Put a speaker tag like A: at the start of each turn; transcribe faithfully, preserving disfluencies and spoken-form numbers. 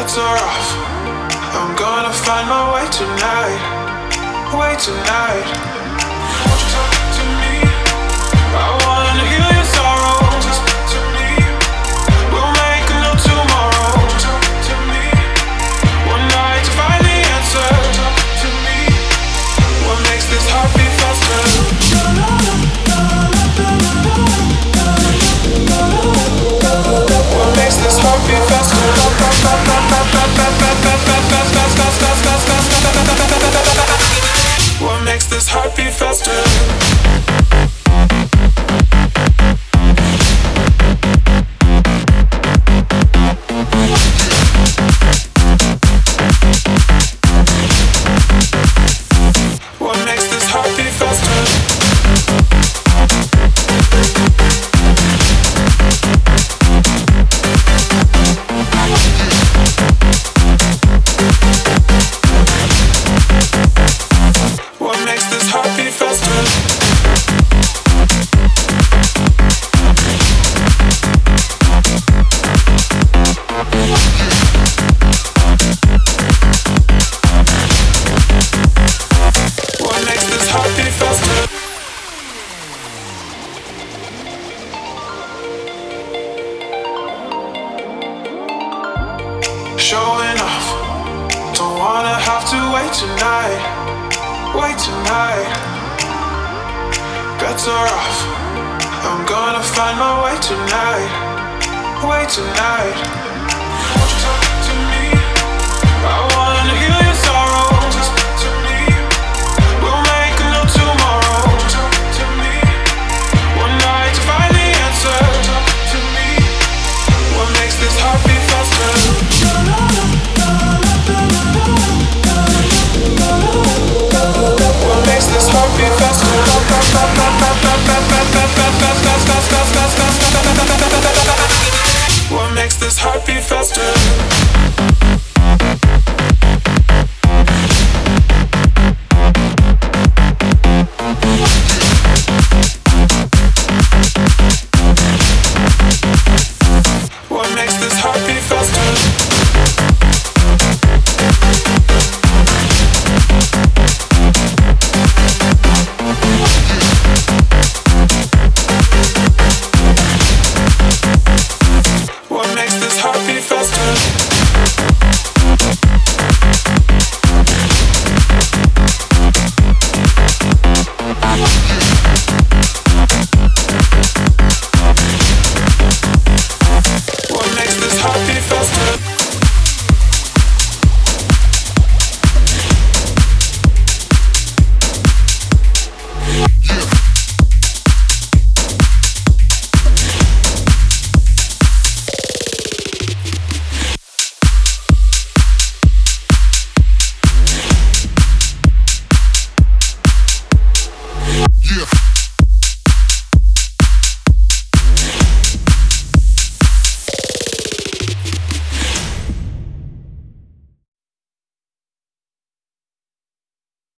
A: bets are off. I'm gonna find my way tonight. Way tonight. Won't you talk to me? I wanna heal your sorrow. Just talk to me. We'll make a new tomorrow. Talk to me. One night to find the answer. Talk to me. What makes this heart beat faster? What makes this heart beat faster? What makes this heart beat faster? Showing off, don't wanna have to wait tonight, wait tonight. Bets are off, I'm gonna find my way tonight, way tonight. Won't you talk to me? I wanna heal your sorrow. Just talk to me. We'll make a new tomorrow. Talk to me. One night to find the answer. Talk to me. What makes this heart beat faster? What makes this heart beat faster? What makes this heart beat faster? What makes this heart beat faster? What makes this heart beat faster?